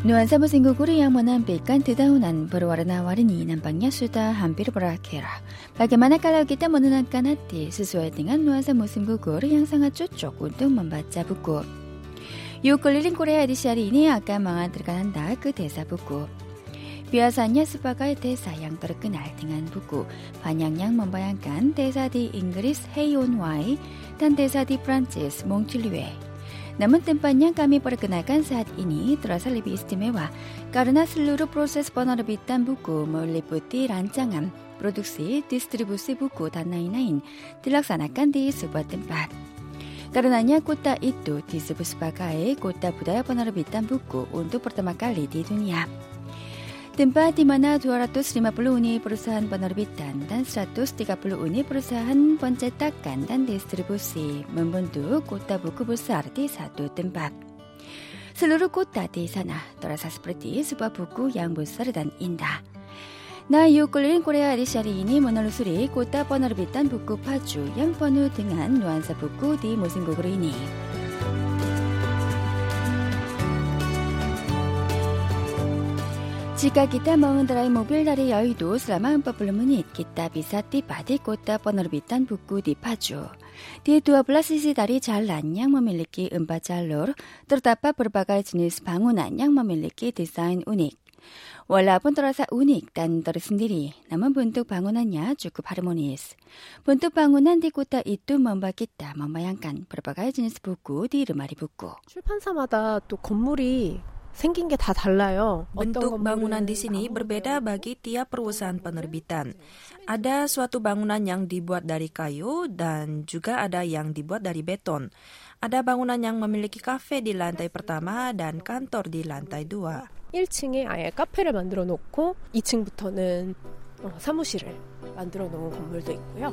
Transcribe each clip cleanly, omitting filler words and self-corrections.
Nuansa musim gugur yang menampilkan dedaunan berwarna-warni nampaknya sudah hampir berakhir. Bagaimana kalau kita menenangkan hati sesuai dengan nuansa musim gugur yang sangat cocok untuk membaca buku? Yuk keliling Korea edisi hari ini akan mengantarkan Anda ke desa buku. Biasanya sebagai desa yang terkenal dengan buku, banyak yang membayangkan desa di Inggris Haeunwae dan desa di Prancis Montpellier. Namun tempat yang kami perkenalkan saat ini terasa lebih istimewa karena seluruh proses penerbitan buku meliputi rancangan, produksi, distribusi buku dan lain-lain dilaksanakan di sebuah tempat. Karenanya kota itu disebut sebagai kota budaya penerbitan buku untuk pertama kali di dunia. Tempat di mana 250 unit perusahaan penerbitan dan 130 unit perusahaan pencetakan dan distribusi membentuk kota buku besar di satu tempat. Seluruh kota di sana terasa seperti sebuah buku yang besar dan indah. Nah, yuk keliling Korea edisi hari ini menelusuri kota penerbitan buku Paju yang penuh dengan nuansa buku di musim gugur ini. Jika kita mengendarai mobil dari Yeouido selama 40 menit, kita bisa tiba di kota penerbitan buku di Paju. Di 12 sisi dari jalan yang memiliki 4 jalur, terdapat berbagai jenis bangunan yang memiliki desain unik. Walaupun terasa unik dan tersendiri, namun bentuk bangunannya cukup harmonis. Bentuk bangunan di kota itu membuat kita membayangkan berbagai jenis buku di lemari buku. 출판사마다 또 건물이 생긴 게 다 달라요. Bentuk bangunan di sini berbeda bagi tiap perusahaan penerbitan. Ada suatu bangunan yang dibuat dari kayu dan juga ada yang dibuat dari beton. Ada bangunan yang memiliki kafe di lantai pertama dan kantor di lantai 2. 1층에 아예 카페를 만들어 놓고 2층부터는 사무실을 만들어 놓은 건물도 있고요.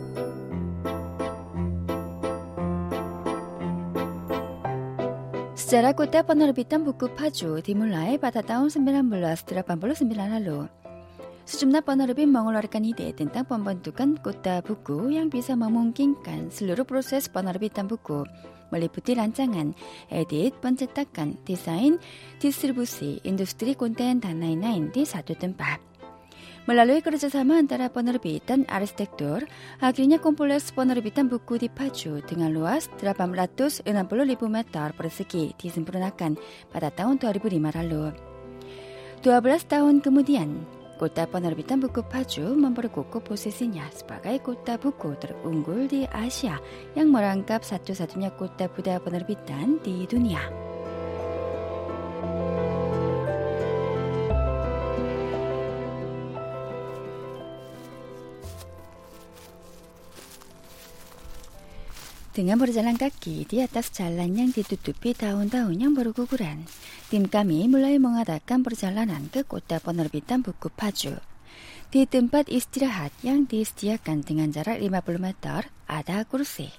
Sejarah kota penerbitan buku Paju dimulai pada tahun 1989 lalu. Sejumlah penerbit mengeluarkan ide tentang pembentukan kota buku yang bisa memungkinkan seluruh proses penerbitan buku, meliputi rancangan, edit, pencetakan, desain, distribusi, industri konten, dan lain-lain di satu tempat. Melalui kerjasama antara penerbit dan arsitektur, akhirnya kompleks penerbitan buku di Paju dengan luas 860.000 meter persegi disempurnakan pada tahun 2005 lalu. 12 tahun kemudian, kota penerbitan buku Paju memperkukuh posisinya sebagai kota buku terunggul di Asia yang merangkap satu-satunya kota budaya penerbitan di dunia. Dengan berjalan kaki di atas jalan yang ditutupi daun-daun yang berguguran, tim kami mulai mengadakan perjalanan ke kota penerbitan buku Paju. Di tempat istirahat yang disediakan dengan jarak 50 meter, ada kursi.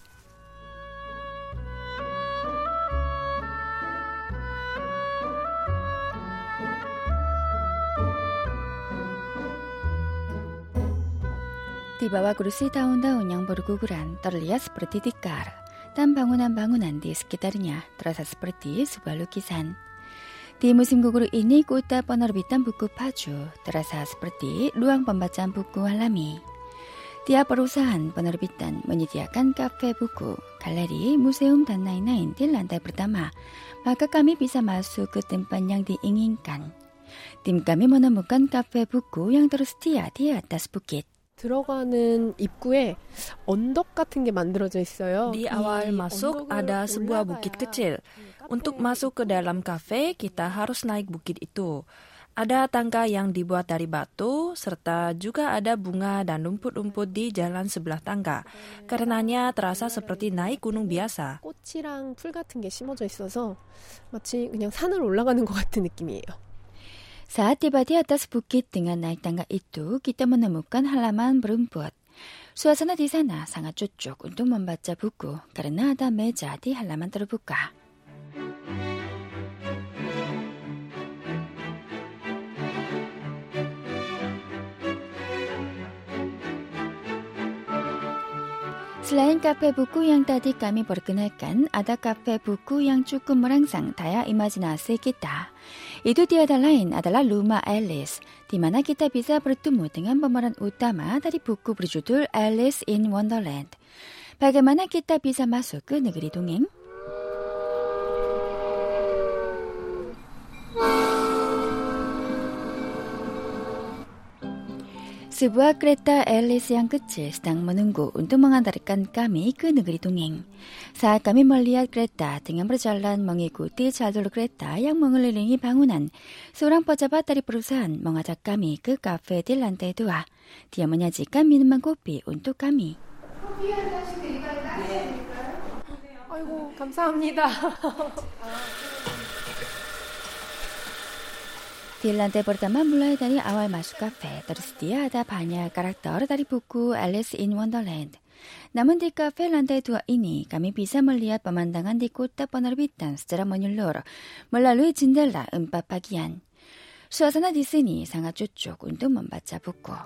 Di bawah kursi daun-daun yang berguguran terlihat seperti tikar, dan bangunan-bangunan di sekitarnya terasa seperti sebuah lukisan. Di musim gugur ini, kota penerbitan buku Paju terasa seperti ruang pembacaan buku alami. Tiap perusahaan penerbitan menyediakan kafe buku, galeri, museum, dan lain-lain di lantai pertama, maka kami bisa masuk ke tempat yang diinginkan. Tim kami menemukan kafe buku yang tersedia di atas bukit. 들어가는 입구에 언덕 같은 게 만들어져 있어요. Di awal masuk ada sebuah bukit kecil. Untuk masuk ke dalam kafe, kita harus naik bukit itu. Ada tangga yang dibuat dari batu, serta juga ada bunga dan rumput-rumput di jalan sebelah tangga. Karenanya terasa seperti naik gunung biasa. 꽃이랑 풀 같은 게 심어져 있어서 마치 그냥 산을 올라가는 것 같은 느낌이에요. Saat tiba di atas bukit dengan naik tangga itu, kita menemukan halaman berumput. Suasana di sana sangat cocok untuk membaca buku karena ada meja di halaman terbuka. Selain kafe buku yang tadi kami perkenalkan, ada kafe buku yang cukup merangsang daya imajinasi kita. Itu tiada lain adalah Rumah Alice, di mana kita bisa bertemu dengan pemeran utama dari buku berjudul Alice in Wonderland. Bagaimana kita bisa masuk ke negeri dongeng? Sebuah kereta Alice yang kecil sedang menunggu untuk mengantarkan kami ke negeri dongeng. Saat kami melihat kereta dengan berjalan mengikuti jalur kereta yang mengelilingi bangunan, seorang pejabat dari perusahaan mengajak kami ke kafe di lantai 2. Dia menyajikan minuman kopi untuk kami. 아이고, 감사합니다. Di lantai pertama mulai dari awal masuk kafe, tersedia ada banyak karakter dari buku Alice in Wonderland. Namun di kafe lantai 2 ini, kami bisa melihat pemandangan di kota penerbitan secara menyeluruh melalui jendela 4 bagian. Suasana di sini sangat cocok untuk membaca buku.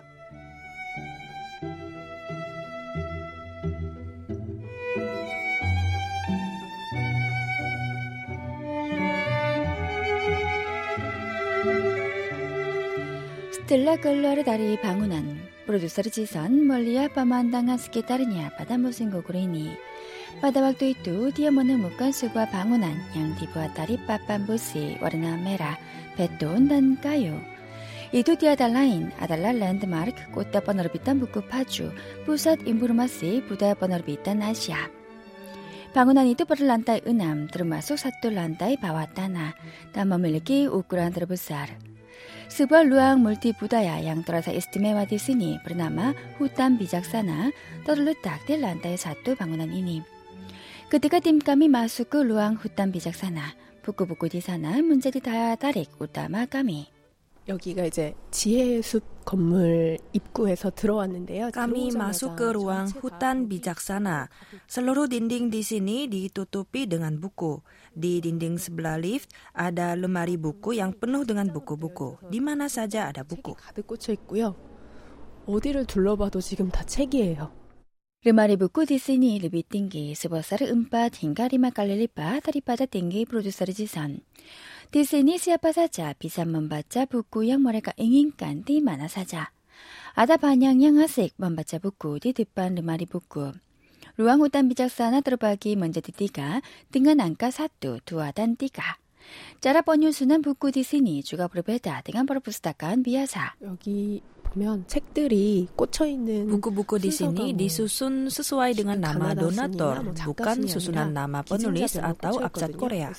Setelah keluar dari bangunan, produser Jisun melihat pemandangan sekitarnya pada musim gugur ini. Pada waktu itu, dia menemukan sebuah bangunan yang dibuat dari papan besi warna merah, beton, dan kayu. Itu tiada lain adalah landmark kota penerbitan buku Paju, pusat informasi budaya penerbitan Asia. Bangunan itu berlantai 6, termasuk satu lantai bawah tanah, dan memiliki ukuran terbesar. Sebuah ruang multibudaya yang terasa istimewa di sini bernama Hutan Bijaksana terletak di lantai 1 bangunan ini. Ketika tim kami masuk ke ruang Hutan Bijaksana, buku-buku di sana menjadi daya tarik utama kami. 여기가 이제 지혜의 숲 건물 입구에서 들어왔는데요. Kami masuk ke ruang hutan bijaksana. Seluruh dinding di sini ditutupi dengan buku. Di dinding sebelah lift ada lemari buku yang penuh dengan buku-buku. Di mana saja ada buku. 가득 꽂혀 있고요. 어디를 둘러봐도 지금 다 책이에요. Lemari buku di sini lebih tinggi sebesar 4 hingga 5 kali lipat daripada tinggi produser Jisun. Di sini siapa saja bisa membaca buku yang mereka inginkan di mana saja. Ada banyak yang asik membaca buku di depan lemari buku. Ruang hutan bijaksana terbagi menjadi 3 dengan angka 1, 2, dan 3. Cara penyusunan buku di sini juga berbeda dengan perpustakaan biasa. 여기 보면 책들이 꽂혀 있는 Buku-buku di sini disusun sesuai dengan nama donatur, bukan susunan nama penulis atau abjad Korea.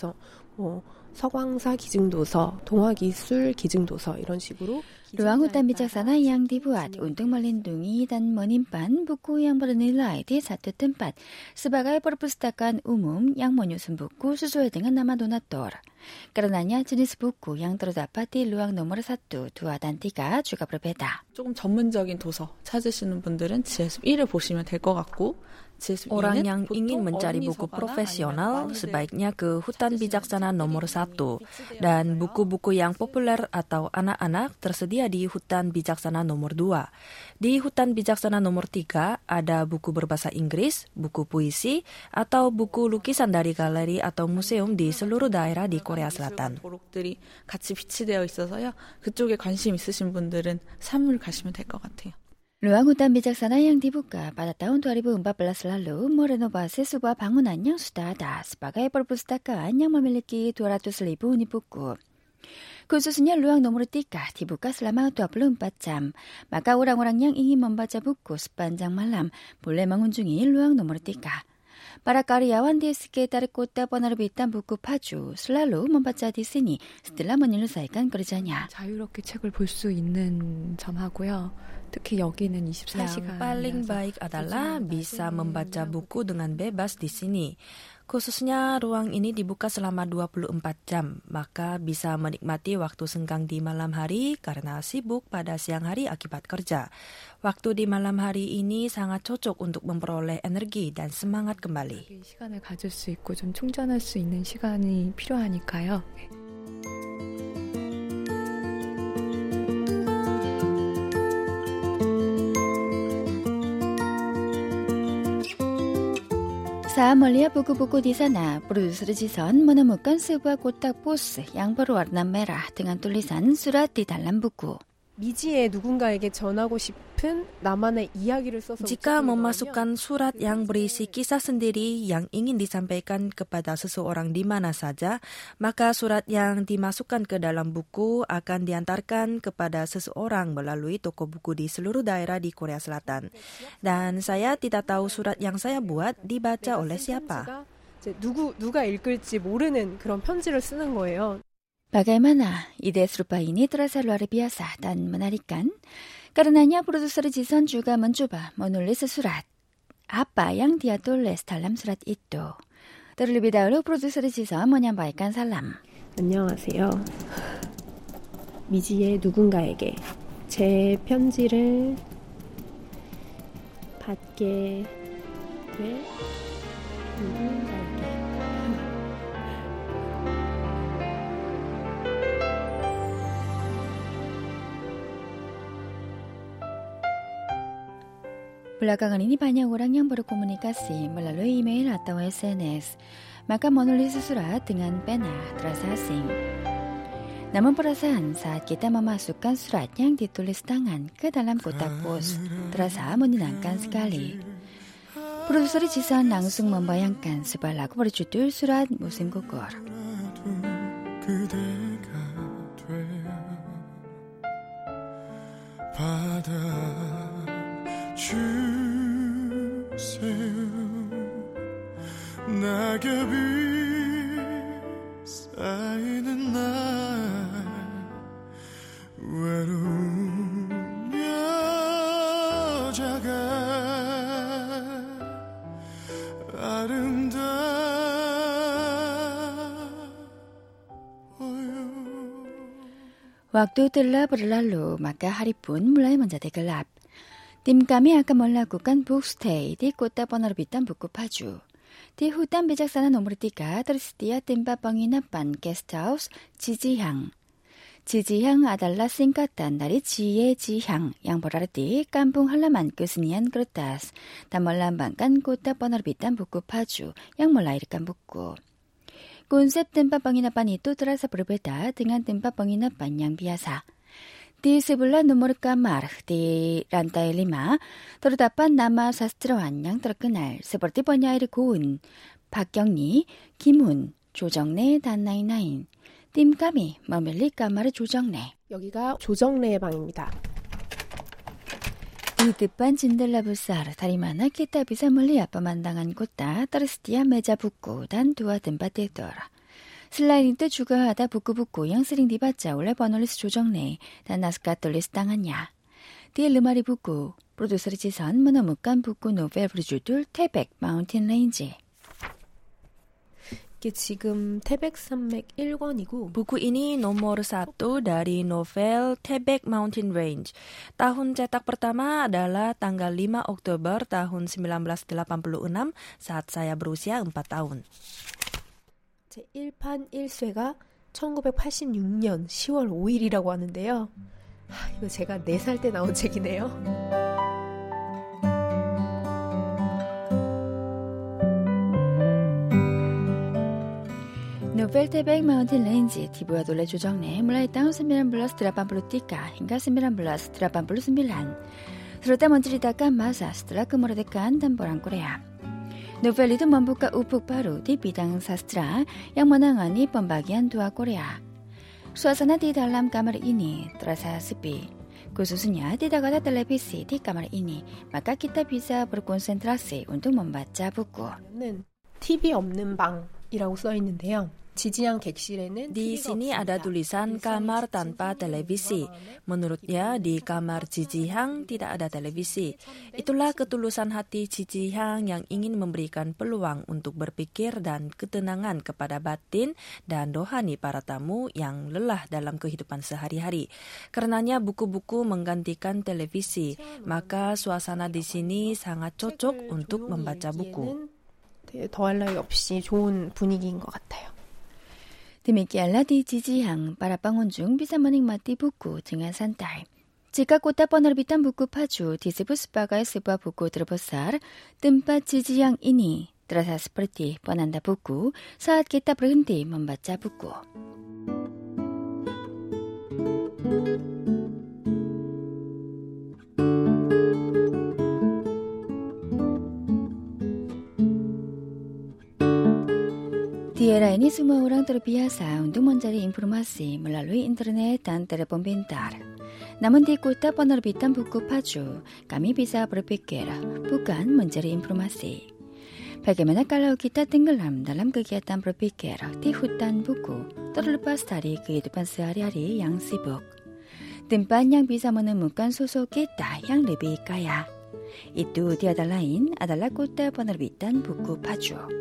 서광사 기증도서, 동화기술 기증도서 이런 식으로 Ruang hutan bijaksana yang dibuat untuk melindungi dan menyimpan buku yang bernilai di satu tempat sebagai perpustakaan umum yang menyusun buku sesuai dengan nama donatur. Karenanya jenis buku yang terdapat di ruang nomor 1, 2, dan 3 juga berbeda. 조금 전문적인 도서 찾으시는 분들은 지혜숲 1을 보시면 될 것 같고 Orang yang ingin mencari buku profesional sebaiknya ke Hutan Bijaksana nomor 1 dan buku-buku yang populer atau anak-anak tersedia di Hutan Bijaksana nomor 2. Di Hutan Bijaksana nomor 3 ada buku berbahasa Inggris, buku puisi, atau buku lukisan dari galeri atau museum di seluruh daerah di Korea Selatan. 도록들이 같이 비치되어 있어서요. 그쪽에 관심 있으신 분들은 3을 가시면 될 것 같아요. Ruang hutan bijaksana yang dibuka pada tahun 2014 lalu merenovasi sebuah bangunan yang sudah ada sebagai perpustakaan yang memiliki 200.000 unit buku. Khususnya ruang nomor 3 dibuka selama 24 jam, maka orang-orang yang ingin membaca buku sepanjang malam boleh mengunjungi ruang nomor 3. Para karyawan di sekitar kota penerbitan buku Paju selalu membaca di sini setelah menyelesaikan kerjanya. 자유롭게 책을 볼 수 있는 점하고요. 특히 여기는 24시간. Yang paling baik adalah bisa membaca buku dengan bebas di sini. Khususnya ruang ini dibuka selama 24 jam, maka bisa menikmati waktu senggang di malam hari karena sibuk pada siang hari akibat kerja. Waktu di malam hari ini sangat cocok untuk memperoleh energi dan semangat kembali. 시간을 가질 수 있고 좀 충전할 수 있는 시간이 필요하니까요. Saya melihat buku-buku di sana. Produser Jisun menemukan sebuah kotak pos yang berwarna merah dengan tulisan surat di dalam buku. 미지의 누군가에게 전하고 싶은 나만의 이야기를 써서 Jika memasukkan surat yang berisi kisah sendiri yang ingin disampaikan kepada seseorang di mana saja, maka surat yang dimasukkan ke dalam buku akan diantarkan kepada seseorang melalui toko buku di seluruh daerah di Korea Selatan. Dan saya tidak tahu surat yang saya buat dibaca oleh siapa. 누가 읽을지 mo르는 그런 편지를 쓰는 거예요. Bagaimana ide serupa ini terasa luar biasa dan menarikan? Karenanya produser Jisun juga mencoba menulis surat. Apa yang dia tulis dalam surat itu? Terlebih dahulu produser Jisun menyampaikan salam. 안녕하세요. 미지의 누군가에게 제 편지를 받게 될 누군가에게 Belakangan ini banyak orang yang berkomunikasi melalui email atau SNS. Maka menulis surat dengan pena terasa asing. Namun perasaan saat kita memasukkan surat yang ditulis tangan ke dalam kotak pos terasa menyenangkan sekali. Produser Jisun langsung membayangkan sebuah lagu berjudul Surat Musim Gugur. 낙엽이 쌓이는 날 외로운 여자가 아름다워요. Waktu telah berlalu, maka hari pun mulai menjadi gelap. Tim kami akan melakukan book stay di kota penerbitan buku Paju. Di hutan bijaksana nomor 3 tersedia tempat penginapan guesthouse Jijihang. Jijihang adalah singkatan dari Jiye Jihang yang berarti kampung halaman kesenian kertas dan melambangkan kota penerbitan buku Paju yang melahirkan buku. Konsep tempat penginapan itu terasa berbeda dengan tempat penginapan yang biasa. Di sebelah nomor kamar di lantai 5 terdapat nama sastrawan yang terkenal seperti penyair 고은, 박경리, 김훈, 조정래 dan lain-lain. Tim kami memilih kamar 조정래. 여기가 조정래의 방입니다. Di depan jendela besar dari mana kita bisa melihat pemandangan kota tersedia meja buku dan 2 tempat tidur. Selain itu juga ada buku-buku yang sering dibaca oleh penulis 조정래 dan naskah tulis tangannya. Di lemari buku, produser Jisun menemukan buku novel berjudul 태백 Mountain Range. 이게 지금 태백산맥 1권이고 Buku ini nomor 1 dari novel 태백 Mountain Range. Tahun cetak pertama adalah tanggal 5 Oktober tahun 1986 saat saya berusia 4 tahun. 제 1판 1쇄가 1986년 10월 5일이라고 하는데요. 이거 제가 4살 때 나온 책이네요. Novel 태백 Mountain Range dibuat oleh 조정래 mulai tahun 1983 hingga 1989, serta menceritakan masa setelah kemerdekaan dan Perang Korea. Novel itu membuka ufuk baru di bidang sastra yang menangani pembagian 2 Korea. Suasana di dalam kamar ini terasa sepi. Khususnya tidak ada televisi di kamar ini, maka kita bisa berkonsentrasi untuk membaca buku. TV 없는 방이라고 써 있는데요. 지지양 객실에는 Di sini ada tulisan kamar tanpa televisi. Menurutnya di kamar Jijihang tidak ada televisi. Itulah ketulusan hati Jijihang yang ingin memberikan peluang untuk berpikir dan ketenangan kepada batin dan rohani para tamu yang lelah dalam kehidupan sehari-hari. Karenanya buku-buku menggantikan televisi, maka suasana di sini sangat cocok untuk membaca buku. 더할 나위 없이 좋은 분위기인 것 같아요. Demikianlah di Jijihang, para pengunjung bisa menikmati buku dengan santai. Jika kota penerbitan buku Paju disebut sebagai sebuah buku terbesar, tempat Jijihang ini terasa seperti penanda buku saat kita berhenti membaca buku. Di era ini semua orang terbiasa untuk mencari informasi melalui internet dan telepon pintar. Namun di kota penerbitan buku Paju, kami bisa berpikir, bukan mencari informasi. Bagaimana kalau kita tenggelam dalam kegiatan berpikir di hutan buku, terlepas dari kehidupan sehari-hari yang sibuk. Tempat yang bisa menemukan sosok kita yang lebih kaya. Itu tiada lain adalah kota penerbitan buku Paju.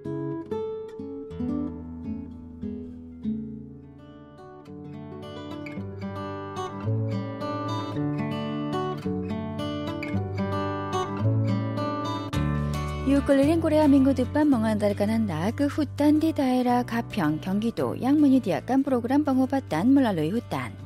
keliling Korea minggu depan mengantarkan Anda ke hutan di daerah Gapyeong, Gyeonggi-do yang menyediakan program pengobatan melalui hutan.